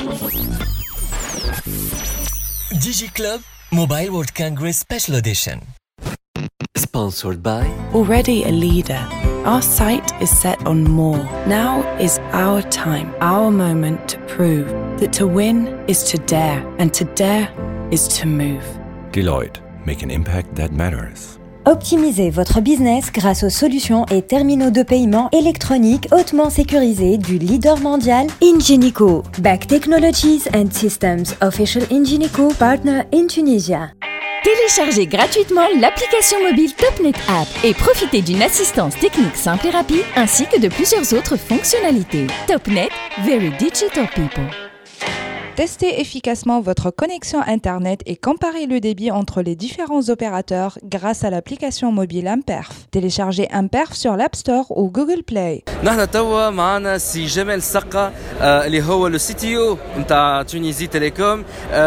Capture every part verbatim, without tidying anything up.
DigiClub Mobile World Congress Special Edition. Sponsored by... Already a leader, our sight is set on more. Now is our time, our moment to prove that to win is to dare, and to dare is to move. Deloitte, make an impact that matters. Optimisez votre business grâce aux solutions et terminaux de paiement électroniques hautement sécurisés du leader mondial Ingenico. Back Technologies and Systems, official Ingenico partner in Tunisia. Téléchargez gratuitement l'application mobile TopNet App et profitez d'une assistance technique simple et rapide ainsi que de plusieurs autres fonctionnalités. TopNet, very digital people. Testez efficacement votre connexion Internet et comparez le débit entre les différents opérateurs grâce à l'application mobile Imperf. Téléchargez Imperf sur l'App Store ou Google Play. نحن توا معنا سي جمال سقة آه اللي هو لو سي تي او نتاع تونيزي تيليكوم.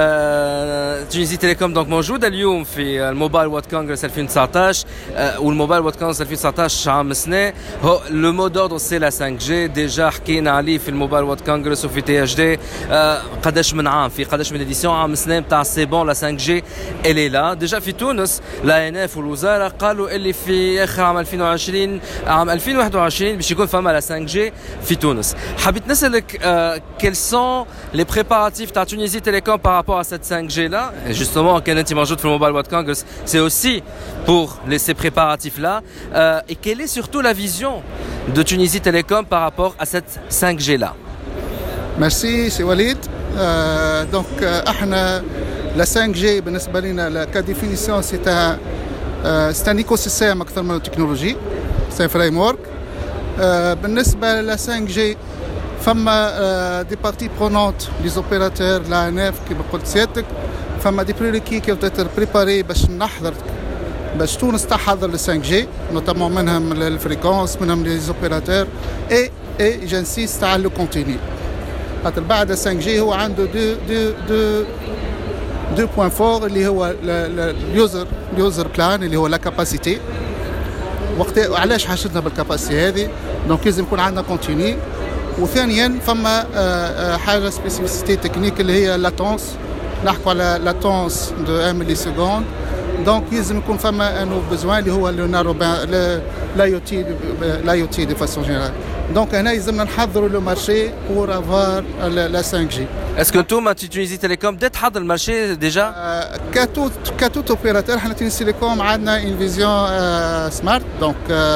آه تونيزي تيليكوم دونك موجودة اليوم في الموبايل وورد كونغرس ألفين وتسعطاش آه والموبايل وورد كونغرس ألفين وتسعطاش عام سنة. هو لو مو دوردر سي لا فايف جي ديجا حكينا عليه في الموبايل وورد كونغرس وفي تي اتش دي. آه قداش من عام في قداش من اديسيون عام سنه نتاع سي بون لا فايف جي اللي لا ديجا في تونس لا ان اف والوزاره قالوا اللي في اخر عام ألفين وعشرين عام ألفين وواحد وعشرين باش يكون فما لا فايف جي في تونس. حبيت نسالك كيل سون لي بريباراتيف تاع تونيزي تيليكوم بارابور ا سيت فايف جي لا جوستومون كان انت موجود في الموبايل وورد كونغرس سي اوسي pour les ces préparatifs là euh, et quelle est surtout la vision de Tunisie Télécom par rapport à cette فايف جي là. Merci, c'est Walid. Euh, donc, euh, احنا la فايف جي بالنسبة لنا la définition c'est un euh, c'est un écosystème أكثر من technologie, c'est un framework. Euh, بالنسبة la فايف جي فما euh, des parties prenantes, les opérateurs, la ان اف كما قلت سيادتك، فما des prérequis qui doivent être préparés باش نحضر باش تونس تحضر ل فايف جي، notamment منهم الفريكونس، منهم les opérateurs et et j'insiste على le continu. خاطر بعد فايف جي هو عنده دو دو دو دو بوين فور اللي هو اليوزر اليوزر بلان اللي هو لا كاباسيتي. وقت علاش حشدنا بالكاباسيتي هذه؟ دونك لازم يكون عندنا كونتيني. وثانيا فما حاجه سبيسيفيسيتي تكنيك اللي هي لاتونس، نحكوا على لاتونس دو واحد ملي سكوند. دونك لازم يكون فما انو بزوان اللي هو لو نارو لاي تي لاي تي دي فاسون جينيرال. دونك هنا لازمنا نحضروا لو مارشي بور افوار لا فايف جي. اسكو انتوما تونيزي تيليكوم بدات تحضر المارشي ديجا؟ كاتوت كاتوت اوبيراتور حنا تونيزي تيليكوم عندنا ان فيزيون سمارت. دونك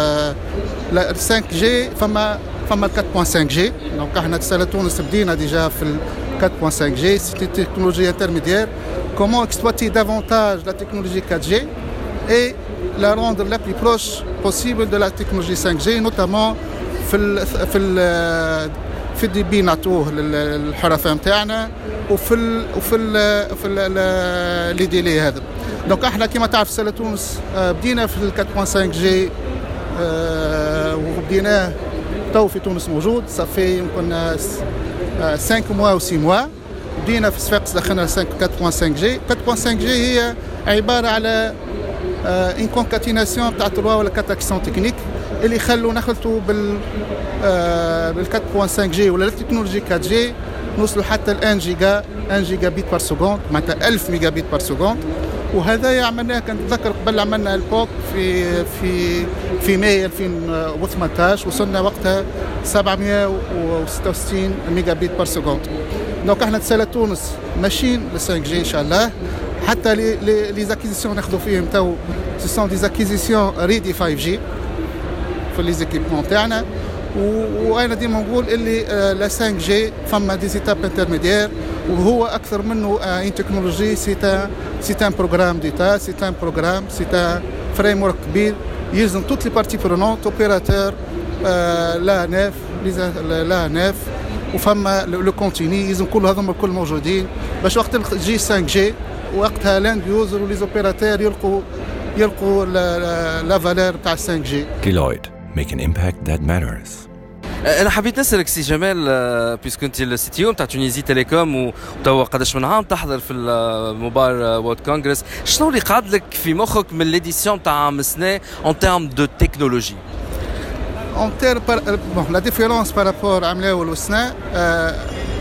لا فايف جي فما فما أربعة فاصلة خمسة جي. دونك احنا تسالة تونس بدينا ديجا في أربعة فاصلة خمسة جي. سيتي تكنولوجيا انترميديير. Comment exploiter davantage la technologie quatre G et la rendre la plus proche possible de la technologie cinq G, notamment في ال في ال في الدي نعطوه للحرفه نتاعنا وفي ال وفي ال في لي ديلي هذا. دونك احنا كما تعرف سالة تونس بدينا في أربعة فاصلة خمسة جي وبديناه تو في تونس موجود صافي يمكن خمسة mois و ستة mois. بدينا في صفاقس دخلنا أربعة فاصلة خمسة جي. أربعة فاصلة خمسة جي هي عباره على ان كونكاتيناسيون تاع تروا ولا كات اكسيون تكنيك اللي يخلوا نخلطوا بال بال أربعة فاصلة خمسة جي ولا التكنولوجي أربعة جي نوصلوا حتى ال واحد جيجا واحد جيجا بيت بار سكوند، معناتها ألف ميجا بيت بار سكوند. وهذا عملناه كنتذكر قبل عملنا البوك في في في ماي ألفين وثمانطاش وصلنا وقتها سبعمية وستة وستين ميجا بيت بار سكوند. دونك احنا تسالة تونس ماشيين ل فايف جي ان شاء الله. حتى لي لي لي زاكيزيسيون ناخذوا فيهم تو سي سون دي زاكيزيسيون ريدي فايف جي في لي زيكيبمون تاعنا. وانا ديما نقول اللي لا فايف جي فما دي زيتاب انترميديير وهو اكثر منه ان تكنولوجي. سي ان سي ان بروغرام ديتا، سي ان بروغرام، سي ان فريم ورك كبير يلزم توت لي بارتي برونونت اوبيراتور لا ناف لا ناف وفما لو كونتيني يلزم كل هذوما الكل موجودين باش وقت تجي فايف جي وقتها لاند يوزر ولي اوبيراتور يلقوا يلقوا لا فالور تاع فايف جي. Deloitte, make an impact that matters. انا حبيت نسالك سي جمال بيسكو انت السي تي او تاع تونيزي تيليكوم وتوا قداش من عام تحضر في الموبايل وورد كونغرس، شنو اللي قعد لك في مخك من ليديسيون تاع عام سنه اون تيرم دو تكنولوجي؟ En termes, bon, la différence par rapport à Amléo ou Sna,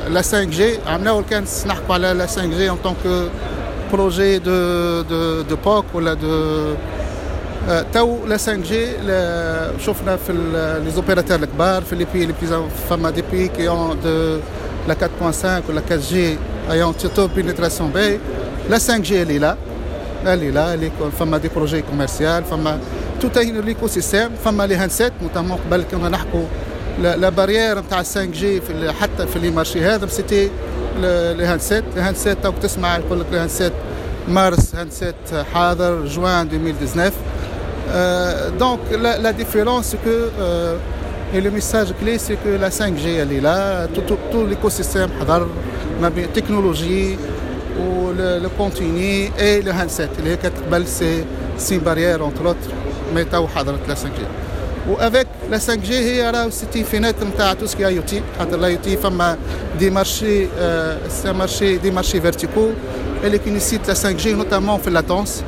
la cinq G. عملنا كان نحكوا على la cinq G en tant que projet de de de P O C ولا de تو la cinq G شفنا في les opérateurs الكبار في les pays les plus فما des pays qui ont de la quatre point cinq ou la quatre G ayant une pénétration baie. La cinq G elle est là, elle est là, elle est فما des projets commerciaux, فما tout l'écosystème, فما les handsets notamment قبل كنا نحكوا la barrière نتاع cinq G في حتى في les marchés هذا c'était les handsets, les handsets تو تسمع يقول لك les handsets mars handset حاضر juin deux mille dix-neuf. Euh, donc la, la différence c'est que euh, et le message clé c'est que la cinq G elle est là, tout, tout, tout l'écosystème حضر ما بين technologie ou le, le contenu et le handset اللي هي كتقبل c'est c'est une barrière entre autres mais تو حضرت la cinq G. وavec la cinq G هي راه سيتي فينيتر نتاع tout ce qui est I O T. خاطر لا I O T فما دي مارشي c'est un marché des marchés verticaux et qui nécessite la cinq G notamment في latence.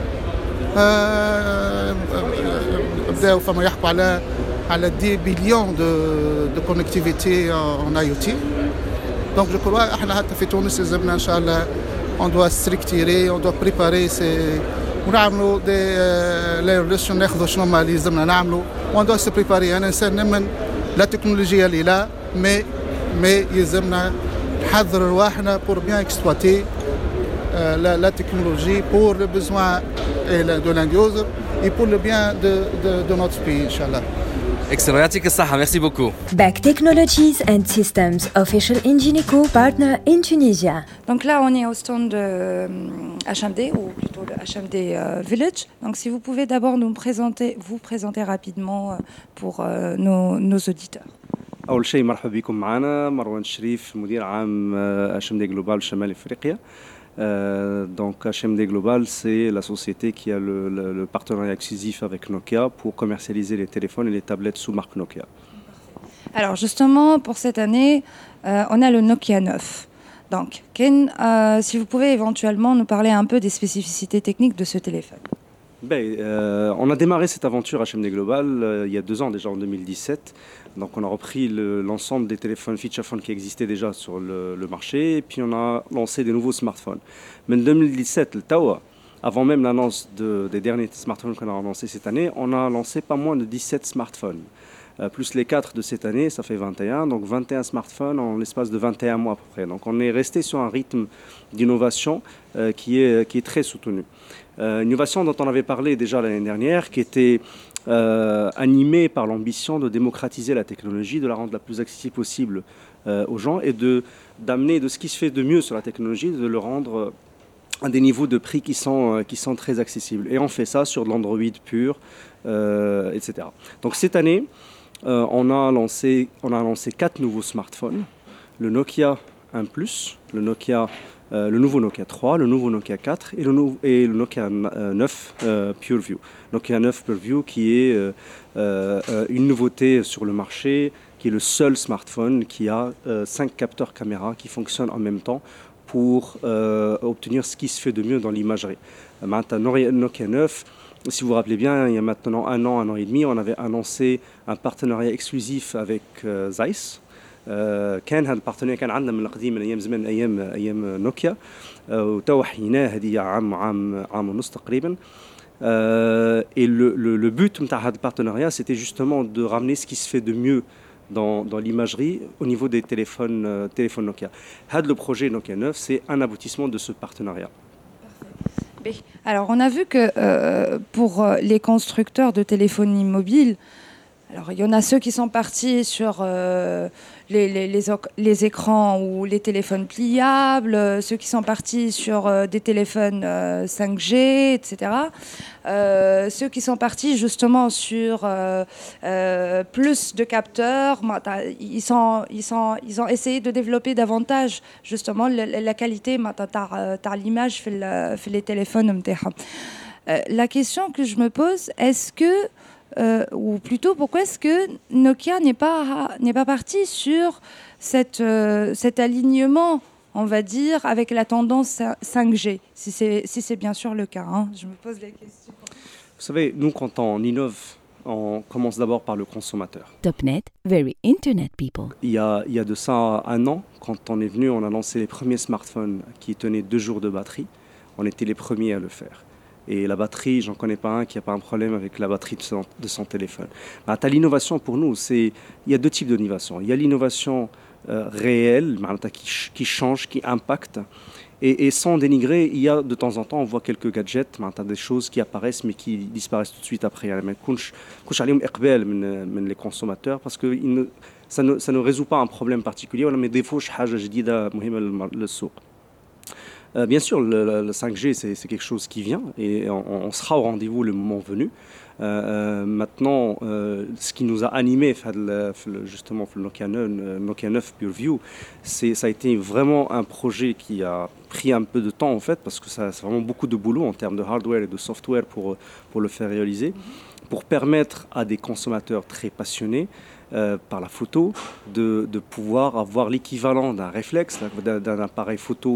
بداو فما يحكوا على على dix billions de de connectivité en I O T. Donc je crois احنا حتى في تونس لازمنا ان شاء الله on doit structurer, on doit préparer ces ونعملوا دي لي ريليشن ناخذوا شنو ما اللي لازمنا نعملوا on doit se préparer. انا انسان نمن لا تكنولوجيا اللي لا مي مي يلزمنا نحضر رواحنا pour bien exploiter euh, la, la technologie pour le besoin de l'end user et pour le bien de, de, de notre pays, Inch'Allah. Excellent, يعطيك الصحة, merci beaucoup. Back Technologies and Systems, official Ingenico partner in Tunisia. Donc là, on est au stand de euh, H M D, ou plutôt le H M D euh, Village. Donc si vous pouvez d'abord nous présenter, vous présenter rapidement euh, pour euh, nos, nos auditeurs. أول شيء مرحبا بكم معنا مروان الشريف مدير عام H M D Global شمال إفريقيا. Euh, donc H M D Global, c'est la société qui a le, le, le partenariat exclusif avec Nokia pour commercialiser les téléphones et les tablettes sous marque Nokia. Alors justement, pour cette année, euh, on a le Nokia neuf. Donc, Ken, euh, si vous pouvez éventuellement nous parler un peu des spécificités techniques de ce téléphone. Ben, euh, on a démarré cette aventure H M D Global euh, il y a deux ans déjà, en deux mille dix-sept. Donc on a repris le, l'ensemble des téléphones feature phones qui existaient déjà sur le, le marché et puis on a lancé des nouveaux smartphones. Mais en deux mille dix-sept, le Tawa, avant même l'annonce de, des derniers smartphones qu'on a lancés cette année, on a lancé pas moins de dix-sept smartphones. Euh, plus les quatre de cette année, ça fait vingt et un. Donc vingt et un smartphones en l'espace de vingt et un mois à peu près. Donc on est resté sur un rythme d'innovation euh, qui, est, qui est très soutenu. Euh, innovation dont on avait parlé déjà l'année dernière, qui était euh, animée par l'ambition de démocratiser la technologie, de la rendre la plus accessible possible euh, aux gens et de, d'amener de ce qui se fait de mieux sur la technologie, de le rendre à des niveaux de prix qui sont, euh, qui sont très accessibles. Et on fait ça sur de l'Android pur, euh, et cetera. Donc cette année, euh, on, a lancé, on a lancé quatre nouveaux smartphones. Le Nokia un plus, le Nokia Euh, le nouveau Nokia trois, le nouveau Nokia quatre et le, nou- et le Nokia neuf euh, PureView. Nokia neuf PureView qui est euh, euh, une nouveauté sur le marché, qui est le seul smartphone qui a euh, cinq capteurs caméra qui fonctionnent en même temps pour euh, obtenir ce qui se fait de mieux dans l'imagerie. Euh, maintenant, Nokia neuf, si vous vous rappelez bien, il y a maintenant un an, un an et demi, on avait annoncé un partenariat exclusif avec euh, Zeiss. كان هذا البارتنير كان عندنا من القديم من ايام زمان ايام ايام نوكيا وتو حيناه هذه عام عام عام ونص تقريبا. Et le, le, le but de ce partenariat, c'était justement de ramener ce qui se fait de mieux dans, dans l'imagerie au niveau des téléphones, euh, téléphones Nokia. Le projet Nokia neuf, c'est un aboutissement de ce partenariat. Alors, on a vu que euh, pour les constructeurs de téléphonie mobile, alors, il y en a ceux qui sont partis sur euh, les, les, les, les écrans ou les téléphones pliables, ceux qui sont partis sur euh, des téléphones euh, cinq G, et cetera. Euh, ceux qui sont partis justement sur euh, euh, plus de capteurs, ils, sont, ils, sont, ils ont essayé de développer davantage justement la, la qualité de l'image dans les téléphones. Euh, la question que je me pose, est-ce que Euh, ou plutôt, pourquoi est-ce que Nokia n'est pas, n'est pas parti sur cette, euh, cet alignement, on va dire, avec la tendance cinq G, si c'est, si c'est bien sûr le cas, hein. Je me pose la question. Vous savez, nous, quand on innove on commence d'abord par le consommateur. Topnet, very internet people. Il y a, il y a de ça un an, quand on est venu, on a lancé les premiers smartphones qui tenaient deux jours de batterie. On était les premiers à le faire. Et la batterie, j'en connais pas un qui n'a pas un problème avec la batterie de son, de son téléphone. Bah, l'innovation pour nous, c'est, il y a deux types d'innovation. Il y a l'innovation euh, réelle, qui, qui change, qui impacte. Et, et sans dénigrer, il y a de temps en temps, on voit quelques gadgets, des choses qui apparaissent mais qui disparaissent tout de suite après. Les consommateurs, parce que ne, ça, ne, ça ne résout pas un problème particulier, mais des fois, Euh, bien sûr, le, le cinq G, c'est, c'est quelque chose qui vient et on, on sera au rendez-vous le moment venu. Euh, euh, maintenant, euh, ce qui nous a animé, justement, le Nokia neuf, Nokia neuf PureView, c'est, ça a été vraiment un projet qui a pris un peu de temps, en fait, parce que ça, c'est vraiment beaucoup de boulot en termes de hardware et de software pour, pour le faire réaliser, pour permettre à des consommateurs très passionnés, Euh, par la photo, de, de pouvoir avoir l'équivalent d'un réflexe, d'un, d'un appareil photo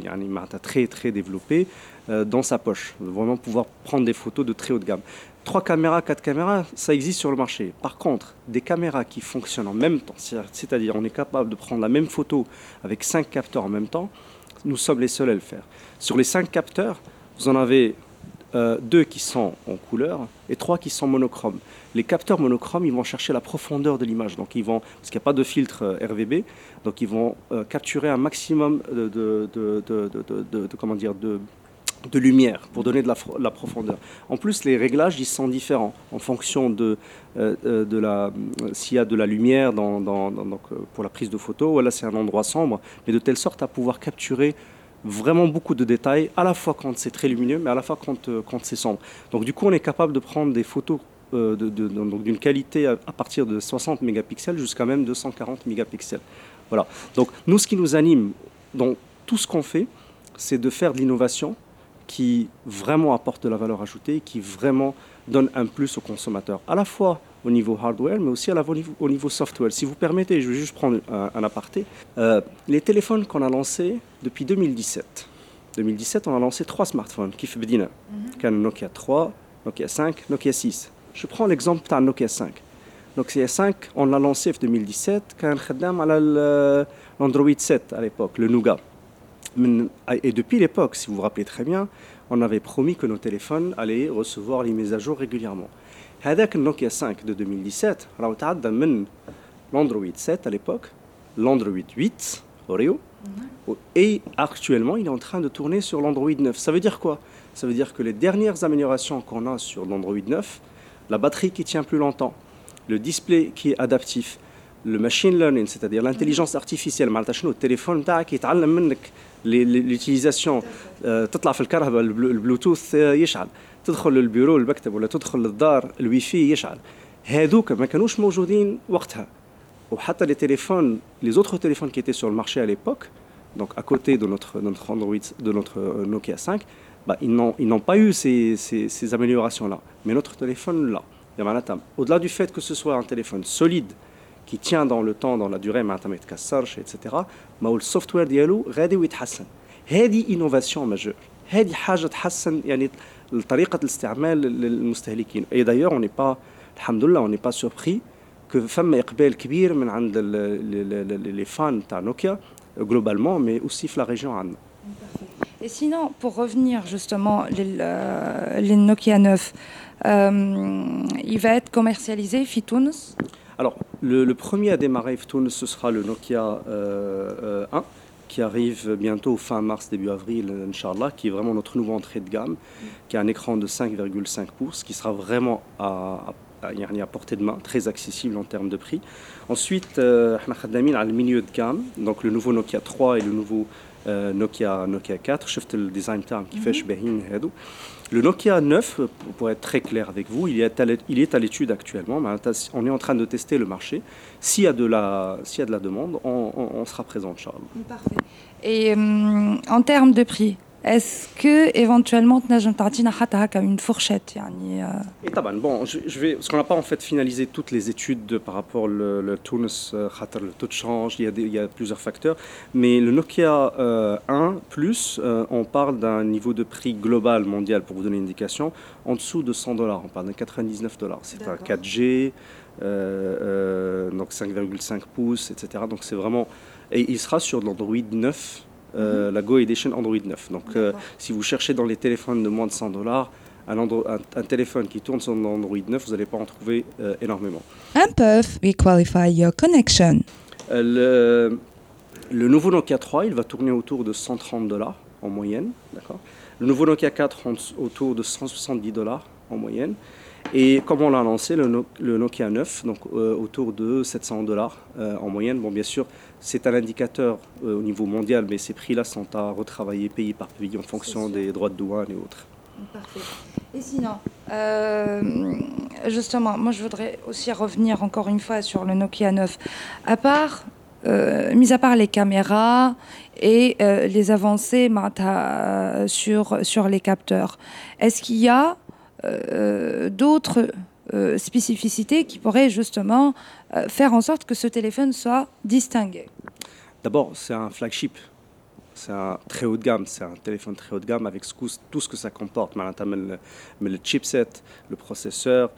très très développé euh, dans sa poche. De vraiment pouvoir prendre des photos de très haut de gamme. Trois caméras, quatre caméras, ça existe sur le marché. Par contre, des caméras qui fonctionnent en même temps, c'est-à-dire on est capable de prendre la même photo avec cinq capteurs en même temps, nous sommes les seuls à le faire. Sur les cinq capteurs, vous en avez Euh, deux qui sont en couleur et trois qui sont monochromes. Les capteurs monochromes, ils vont chercher la profondeur de l'image. Donc ils vont, parce qu'il n'y a pas de filtre euh, R V B, donc ils vont euh, capturer un maximum de, de, de, de, de, de, de, de comment dire, de, de lumière pour donner de la, la profondeur. En plus, les réglages, ils sont différents en fonction de, euh, de la, s'il y a de la lumière dans, dans, dans, donc, pour la prise de photo, ou là c'est un endroit sombre, mais de telle sorte à pouvoir capturer vraiment beaucoup de détails, à la fois quand c'est très lumineux, mais à la fois quand, euh, quand c'est sombre. Donc du coup, on est capable de prendre des photos euh, de, de, de, donc, d'une qualité à, à partir de soixante mégapixels jusqu'à même deux cent quarante mégapixels. Voilà. Donc nous, ce qui nous anime dans tout ce qu'on fait, c'est de faire de l'innovation qui vraiment apporte de la valeur ajoutée, qui vraiment donne un plus aux consommateurs, à la fois au niveau hardware, mais aussi à la, au, niveau, au niveau software. Si vous permettez, je vais juste prendre un, un aparté. Euh, les téléphones qu'on a lancés depuis deux mille dix-sept. deux mille dix-sept, on a lancé trois smartphones, qui fait Bedina. Mm-hmm. Nokia trois, Nokia cinq, Nokia six. Je prends l'exemple de Nokia cinq. Nokia cinq, on l'a lancé en deux mille dix-sept, quand on a l'Android sept à l'époque, le Nougat. Et depuis l'époque, si vous vous rappelez très bien, on avait promis que nos téléphones allaient recevoir les mises à jour régulièrement. هذاك Nokia cinq de deux mille dix-sept, راهو تعدى من l'Android sept à l'époque, l'Android huit, Oreo, mm-hmm. et actuellement il est en train de tourner sur l'Android neuf. Ça veut dire quoi? Ça veut dire que les dernières améliorations qu'on a sur l'Android neuf, la batterie qui tient plus longtemps, le display qui est adaptif, le machine learning, c'est-à-dire l'intelligence artificielle, معناتها شنو التليفون تاعك يتعلم منك l'utilisation تطلع في الكهرباء البلوتوث يشعل، تدخل للبيرو المكتب ولا تدخل للدار الواي فاي يشعل. هذوك ما كانوش موجودين وقتها. وحتى les téléphones, les autres téléphones qui étaient sur le marché à l'époque, donc à côté de notre, notre Android, de notre Nokia cinq, bah, ils, n'ont, ils n'ont pas eu ces, ces, ces améliorations-là. Mais notre téléphone, là, au-delà du fait que ce soit un téléphone solide, qui tient dans le temps, dans la durée, et cetera, le software diallo غادي ويتحسن. هذه innovation majeure. هذه حاجة تحسن يعني طريقة الاستعمال للمستهلكين. Et d'ailleurs, on n'est pas, alhamdoulilah, on n'est pas surpris que فما إقبال كبير من عند les fans de Nokia globalement, mais aussi dans la région عندنا. Et sinon, pour revenir justement les, euh, les Nokia neuf, euh, il va être commercialisé في تونس. Alors, le, le premier à démarrer à Tunis, ce sera le Nokia euh, euh, un, qui arrive bientôt fin mars, début avril, Inch'Allah, qui est vraiment notre nouveau entrée de gamme, qui a un écran de cinq virgule cinq pouces, qui sera vraiment à, à, à, à portée de main, très accessible en termes de prix. Ensuite, on a le milieu de gamme, donc le nouveau Nokia trois et le nouveau euh, Nokia, Nokia quatre. Je fais le design term qui fait Shbahin Hedou. Le Nokia neuf, pour être très clair avec vous, il est à, il est à l'étude actuellement. On est en train de tester le marché. S'il y a de la, s'il y a de la demande, on, on, on sera présent, Charles. Parfait. Et euh, en termes de prix, Est-ce que éventuellement تنجم تعطينا حتى هكا une fourchette يعني Et taban, bon, je, je vais, parce qu'on n'a pas en fait finalisé toutes les études de, par rapport le, le Tunis, euh, le taux de change, il y a, des, il y a plusieurs facteurs, mais le Nokia euh, un plus, euh, on parle d'un niveau de prix global mondial, pour vous donner une indication, en dessous de cent dollars, on parle de quatre-vingt-dix-neuf dollars. C'est D'accord. un quatre G, euh, euh, donc cinq virgule cinq pouces, et cetera. Donc c'est vraiment, et il sera sur l'Android neuf. Euh, la Go Edition Android neuf. Donc, euh, si vous cherchez dans les téléphones de moins de cent dollars, un, Andro- un, un téléphone qui tourne sur Android neuf, vous n'allez pas en trouver euh, énormément. M P F, we qualify your connection. Euh, le, le nouveau Nokia trois, il va tourner autour de cent trente dollars en moyenne. D'accord. Le nouveau Nokia quatre, autour de cent soixante-dix dollars en moyenne. Et comme on l'a annoncé, le, no- le Nokia neuf, donc euh, autour de sept cents dollars euh, en moyenne. Bon, bien sûr, c'est un indicateur euh, au niveau mondial, mais ces prix-là sont à retravailler pays par pays en fonction des droits de douane et autres. Parfait. Et sinon, euh, justement, moi je voudrais aussi revenir encore une fois sur le Nokia neuf. À part, euh, mis à part les caméras et euh, les avancées euh, sur, sur les capteurs, est-ce qu'il y a euh, d'autres euh, spécificités qui pourraient justement euh, faire en sorte que ce téléphone soit distingué? D'abord, c'est un flagship. C'est un très haut de gamme, c'est un téléphone très haut de gamme avec tout ce que ça comporte. Mais le chipset, le processeur,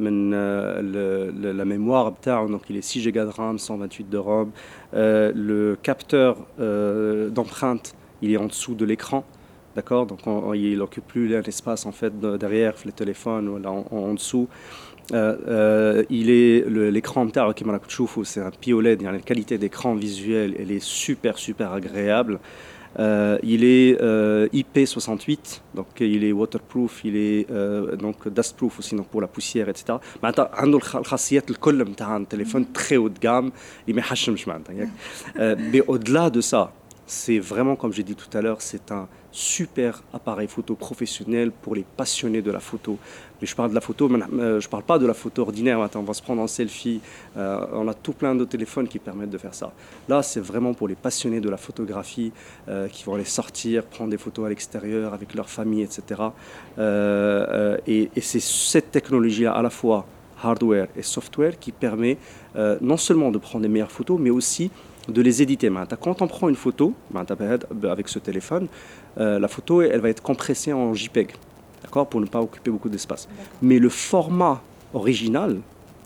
le, le, la mémoire, donc il est six giga de RAM, cent vingt-huit de ROM. Euh, le capteur euh, d'empreinte, il est en dessous de l'écran. D'accord, donc on, il n'occupe plus un espace en fait de, derrière le téléphone ou là en, en dessous. Euh, euh, il est le, l'écran متاعو كما راكم تشوفوا, c'est un P O L E D, يعني la qualité d'écran visuel elle est super super agréable. Euh, il est euh, I P soixante-huit, donc il est waterproof, il est euh, donc dustproof aussi donc pour la poussière, et cetera. معناتها عنده الخاصيات الكل نتاع un téléphone très haut de gamme اللي ما يحشمش معناتها. Mais au-delà de ça, c'est vraiment, comme j'ai dit tout à l'heure, c'est un super appareil photo professionnel pour les passionnés de la photo. Mais je parle de la photo, je ne parle pas de la photo ordinaire. Attends, on va se prendre en selfie. Euh, on a tout plein de téléphones qui permettent de faire ça. Là, c'est vraiment pour les passionnés de la photographie euh, qui vont aller sortir, prendre des photos à l'extérieur avec leur famille, et cetera. Euh, euh, et, et c'est cette technologie-là, à la fois hardware et software, qui permet euh, non seulement de prendre des meilleures photos, mais aussi de les éditer. Quand on prend une photo avec ce téléphone, euh, la photo elle va être compressée en JPEG, d'accord, pour ne pas occuper beaucoup d'espace. D'accord. Mais le format original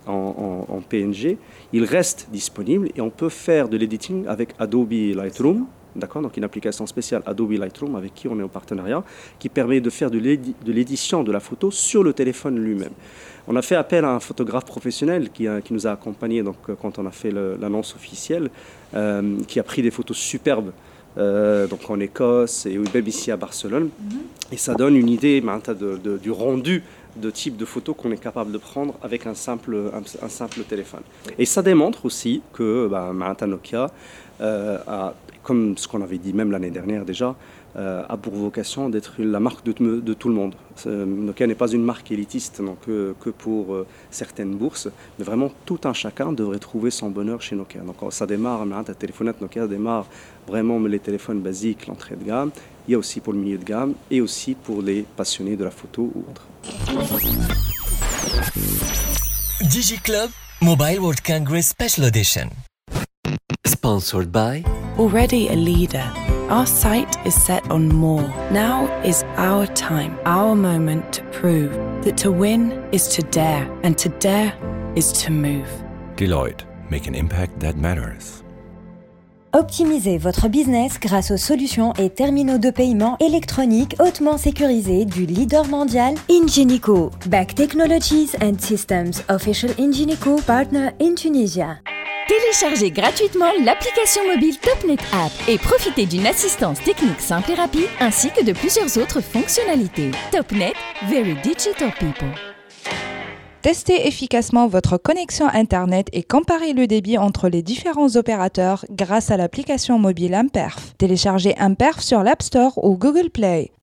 en, en, en P N G, il reste disponible et on peut faire de l'editing avec Adobe Lightroom. D'accord, donc une application spéciale Adobe Lightroom avec qui on est en partenariat, qui permet de faire de, l'édi- de l'édition de la photo sur le téléphone lui-même. On a fait appel à un photographe professionnel qui, a, qui nous a accompagnés donc, quand on a fait le, l'annonce officielle, euh, qui a pris des photos superbes euh, donc en Écosse et même ici à Barcelone. Mm-hmm. Et ça donne une idée de, de, du rendu de type de photos qu'on est capable de prendre avec un simple, un, un simple téléphone. Et ça démontre aussi que bah, Nokia euh, a, comme ce qu'on avait dit même l'année dernière déjà, euh, a pour vocation d'être la marque de, de tout le monde. Euh, Nokia n'est pas une marque élitiste non, que, que pour euh, certaines bourses, mais vraiment tout un chacun devrait trouver son bonheur chez Nokia. Donc ça démarre, ta téléphonette Nokia démarre vraiment les téléphones basiques, l'entrée de gamme. Il y a aussi pour le milieu de gamme et aussi pour les passionnés de la photo ou autre. DigiClub Mobile World Congress Special Edition. Sponsored by. Already a leader, our sight is set on more. Now is our time, our moment to prove that to win is to dare, and to dare is to move. Deloitte, make an impact that matters. Optimisez votre business grâce aux solutions et terminaux de paiement électroniques hautement sécurisés du leader mondial Ingenico. Back Technologies and Systems, official Ingenico partner in Tunisia. Téléchargez gratuitement l'application mobile TopNet App et profitez d'une assistance technique simple et rapide ainsi que de plusieurs autres fonctionnalités. TopNet, very digital people. Testez efficacement votre connexion Internet et comparez le débit entre les différents opérateurs grâce à l'application mobile M Perf. Téléchargez M Perf sur l'App Store ou Google Play.